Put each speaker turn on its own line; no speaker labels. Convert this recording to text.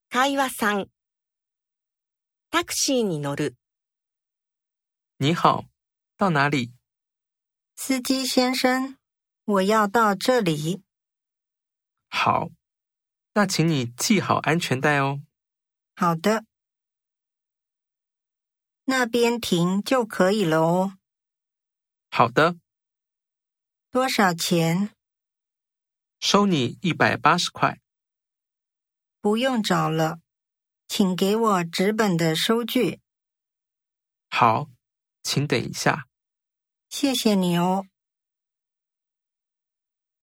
会話3。タクシーに乗る。
你好，到哪里？
司机先生，我要到这里。
好，那请你系好安全带哦。
好的。那边停就可以了哦。
好的，
多少钱？
收你180块。
不用找了，请给我纸本的收据。
好，请等一下。
谢谢你哦。